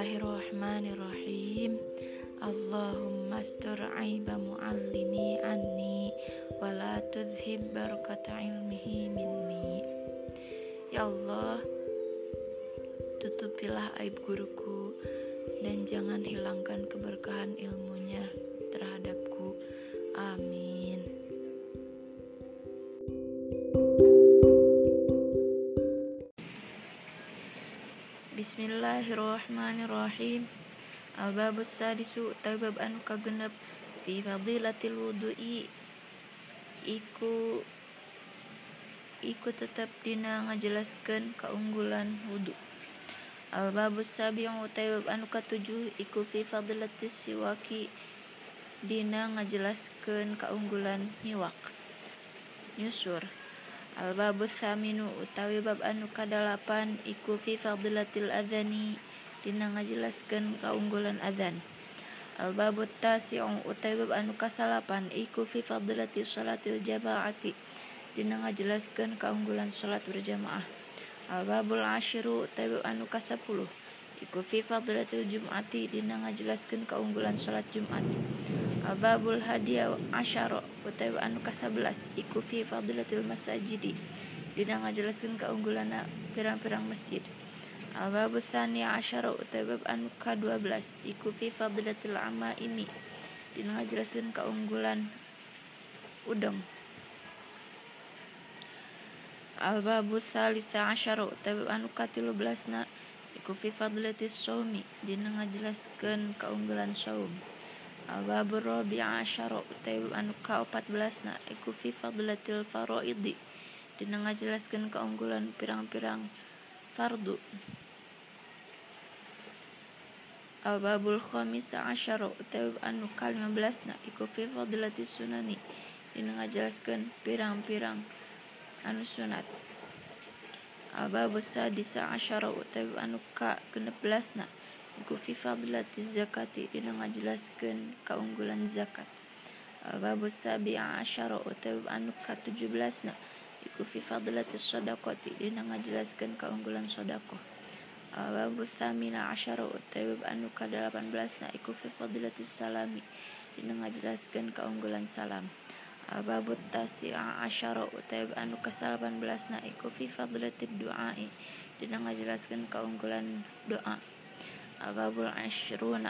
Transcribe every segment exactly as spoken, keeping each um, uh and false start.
Bismillahirrahmanirrahim. Allahumma astur aiba muallimi anni wa la tudhib barakata ilmihi minni. Ya Allah, tutupilah aib guruku dan jangan hilangkan keberkahan ilmunya terhadapku. Amin. Bismillahirrahmanirrahim. Al-babus sadisu tabab anu kagenep fi fadilatil wudu'i iku iku tetap dina ngajelaskeun kaunggulan wudu. Al-babus sabi'u tabab anu katujuh iku fi fadilatis siwaki dina ngajelaskeun kaunggulan nyiwak. Nyusur. Al-babus thaminu utawi bab anu kadalapan iku fi fadilatil adzani dina ngajelaskeun kaunggulan adzan. Al-babut tasi'u utawi bab anu kasalapan iku fi fadilatis sholatil jamaati dina ngajelaskeun kaunggulan salat berjamaah. Al-babul asyiru utawi bab anu kasapuluh iku fi fadilatil jum'ati dina ngajelaskeun kaunggulan salat Jumat. Al-babul hadiya asyara utawi anu kasabelas iku fi fadilatil masajidi dina ngajelaskeun kaunggulan pirang-pirang masjid. Al-babul tsani asyara utawi bab anu kadua belas iku fi fadilatil amaimi dina ngajelaskeun kaunggulan udeng. Al-babul tsalisa asyara utawi bab anu katilu belasna iku fi fadilatis shaumi dina ngajelaskeun kaunggulan saum. Al-babur rabi'a asyara utawi bab anu kaopat belasna iku fi fadilatil faraidi dina ngajelaskeun kaunggulan pirang-pirang fardu. Al-babul khamisa asyara utawi bab anu kalima belasna iku fi fadilatis sunani dina ngajelaskeun pirang-pirang anu sunat. Al-babus sadisa asyara utawi bab anu ka genep belasna iku fi fadilatiz zakati dina ngajelaskeun kaunggulan zakat. Al-babus sabi'a asyara utawi anu ka tujuh belasna iku fi fadilatis shadaqati dina ngajelaskeun kaunggulan sedekah. Al-babus tsamina asyara utawi anu ka delapan belasna iku fi fadilatis salami dina ngajelaskeun kaunggulan salam. Al-babut tasi'a asyara utawi anu ka salapan belasna iku fi fadilatid du'ai dina ngajelaskeun kaunggulan doa. Al-babul asyruna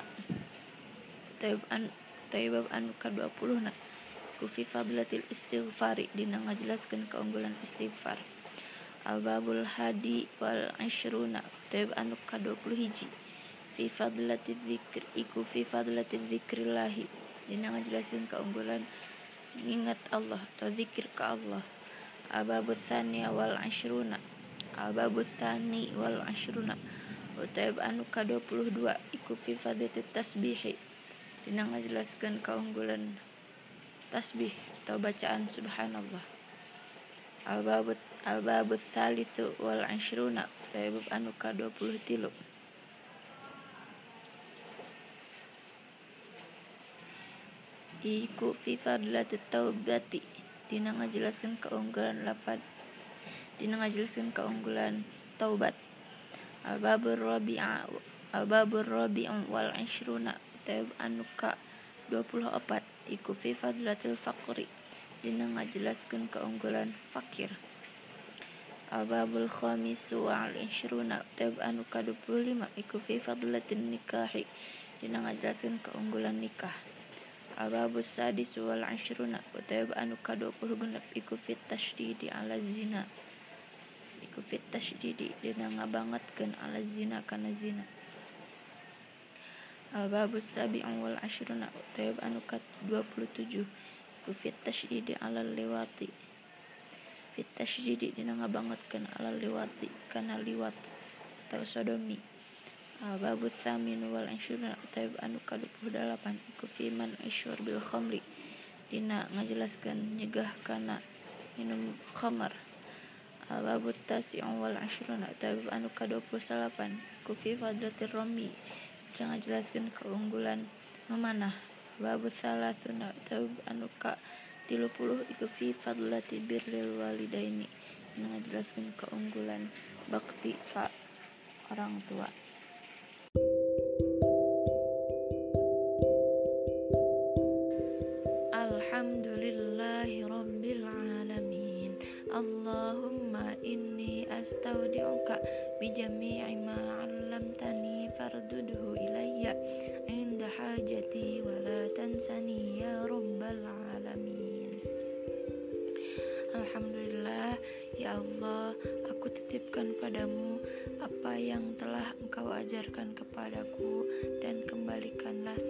utawi bab anu ka dua puluhna iku fi fadilatil istighfari dina ngajelaskeun kaunggulan istighfar. Al-babul hadi wal asyruna utawi anu ka dua puluh hiji fi fadilatid dzikr iku fi fadilatid dzikrillahi dina ngajelaskeun kaunggulan nginget Allah atau zikir ka Allah. Al-babul tsani wal asyruna al-babul tsani wal asyruna utawi anu ka dua puluh dua iku fi fadilatit tasbih dina ngajelaskeun kaunggulan tasbih atau bacaan subhanallah. Al-babut al-babut tsalitsu wal asyruna utawi bab anu ka dua puluh tilu iku fi fadilatit taubati dina ngajelaskeun kaunggulan lafaz dina ngajelaskeun kaunggulan taubat. Al-babur rabi'a al-babur rabi'u wal asyruna utawi anu ka dua puluh opat iku fi fadilatil faqri dina ngajelaskeun kaunggulan fakir. Al-babul khamisu wal asyruna utawi anu ka dua puluh lima iku fi fadilatin nikahi dina ngajelaskeun kaunggulan nikah. Al-babus sadisu wal asyruna utawi anu ka dua puluh genep iku fi tasydidi ala zina iku fit tasydidi dina ngabangetkeun ala zina kana zina. Al-babus sabi'u wal asyruna utawi anu ka dua puluh tujuh iku fit tasydidi ala liwati fit tasydidi dina ngabangetkeun ala liwati kana liwat atau sodomi. Al-babut tsaminu wal asyruna utawi anu ka dua puluh delapan iku fi man isyur bil khamri dina ngajelaskeun nyegah kana minum khamar. Al-babut tasi'u wal asyruna utawi anu ka dua puluh salapan iku fi fadilatir rami dina ngajelaskeun kaunggulan memanah. Babut salasuna utawi anu ka tilu puluh iku fi fadilati birril walidaini dina ngajelaskeun kaunggulan bakti ka orang tua. astaudi'uka bijami'i ma 'allamtani fardudhu ilayya 'inda hajati wa la tansani ya rabbal alamin. Alhamdulillah, ya Allah, aku titipkan padamu apa yang telah Engkau ajarkan kepadaku, dan kembalikanlah